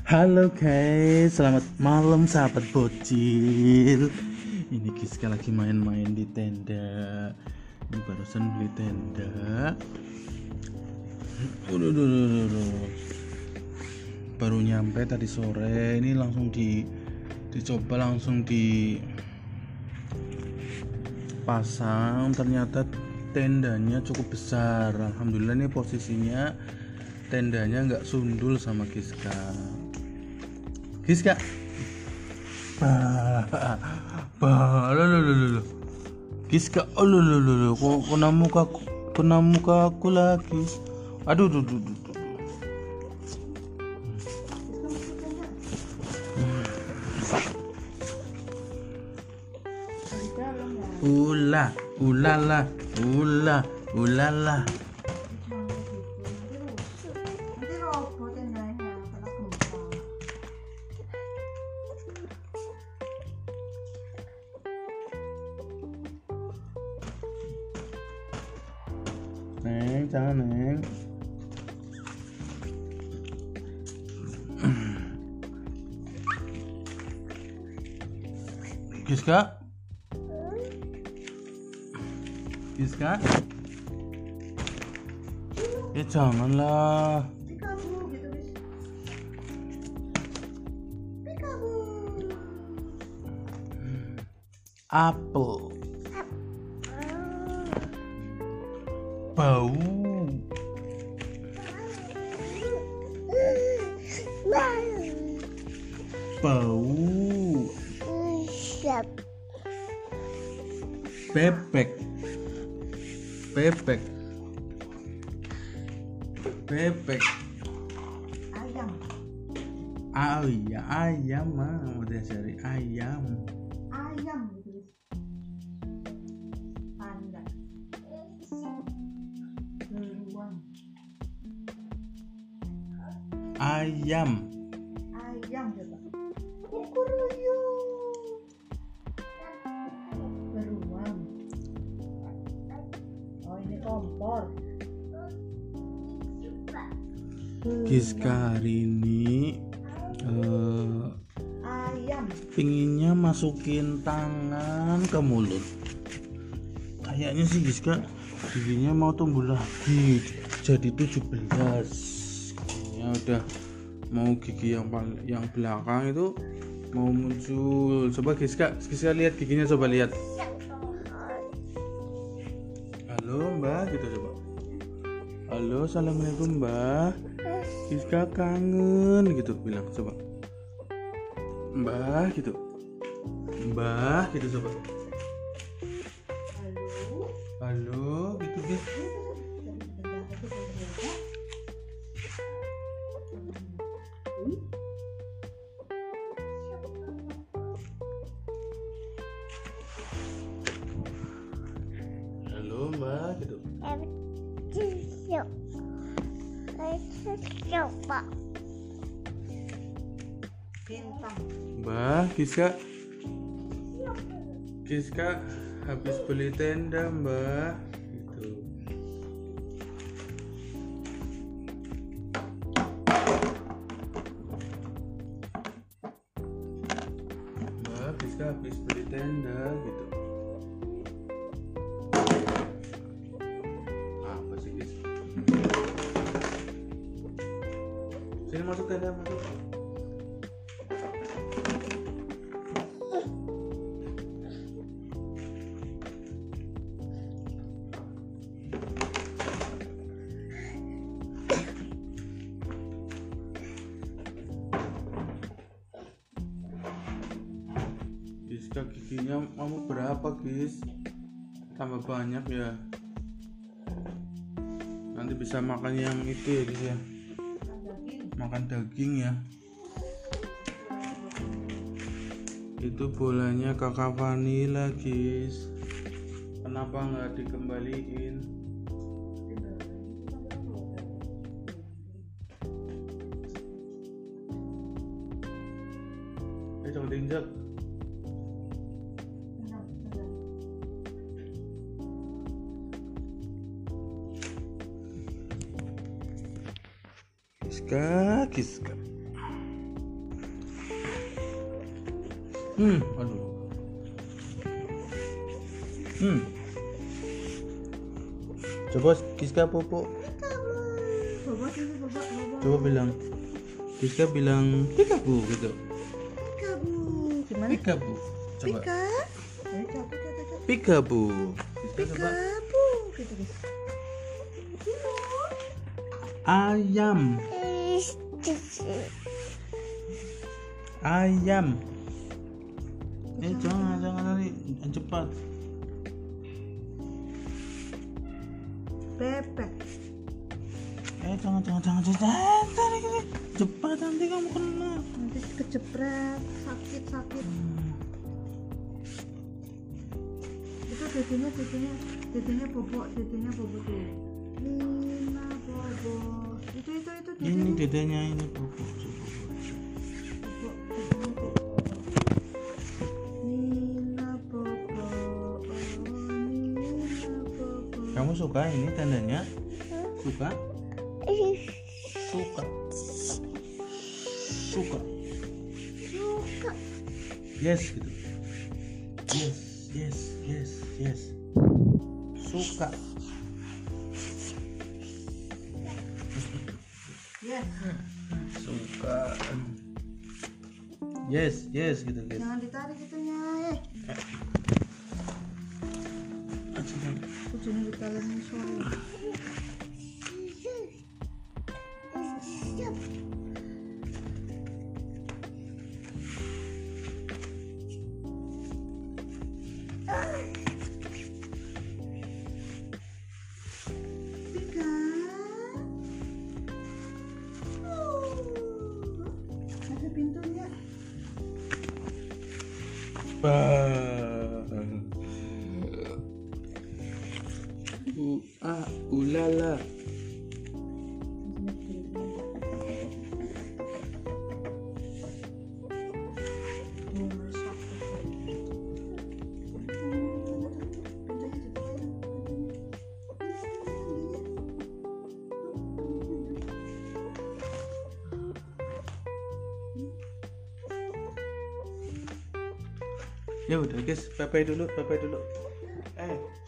Halo guys, selamat malam sahabat bocil. Ini Giska lagi main-main di tenda. Ini barusan beli tenda. Baru nyampe tadi sore. Ini langsung dicoba langsung dipasang. Ternyata tendanya cukup besar. Alhamdulillah ini posisinya tendanya nggak sundul sama Giska. Giska, Giska, kena muka aku lagi. Aduh, ulala. Neng, jangan Neng. Giska, ya janganlah. Apel, bau, bebek, Ayam. iya ayam mah udah cari ayam. Gitu. Panda. Beruang. Ayam Coba. Kukuruyu. Beruang. Oh, ini kompor. Giska hari ini Ayam. pinginnya masukin tangan ke mulut. Kayaknya sih Giska giginya mau tumbuh lagi jadi 17. Giginya udah mau gigi yang belakang itu mau muncul. Coba Giska lihat giginya, coba lihat. Halo Mbak, gitu coba. Halo, assalamualaikum Mbak. Giska kangen gitu bilang, coba. Mbak gitu coba. Halo gitu Gis. Halo Mbak gitu. Bintang. Mbak, Giska habis beli tenda Mbak gitu. Mbak, Giska habis beli tenda gitu. Apa sih Gis? Sini masuk tenda, masuk. Giska giginya mau berapa Gis? Tambah banyak ya. Nanti bisa makan yang itu ya Gis ya. Makan daging ya. Itu bolanya kakak Vanilla Gis. Kenapa nggak dikembaliin? Jangan diinjak. Giska. Aduh. Coba Giska pupuk. Bobo sini, bobo. Coba bilang. Giska bilang Pikabu gitu. Pikabu. Gimana? Pikabu. Coba. Pika. Ayo coba kata. Pikabu. Giska coba. Pikabu. Gitu guys. Ayam. Ayam. Jangan lari, cepat. Bebek. Jangan. Cepat nanti kamu kena. Nanti kejepret, sakit. Itu dedenya bobo tuh. Nina bobo. Itu Ini dedenya ini bobo. Nina bobo. Kamu suka ini tandanya? Suka? Suka. Yes gitu. Yes. Suka. Yes. Suka. Yes gitu guys. Jangan ditarik itunya, Ujungnya ditarik sore. Pika. Ada pintunya. Ulala. Ya udah guys, bye bye dulu.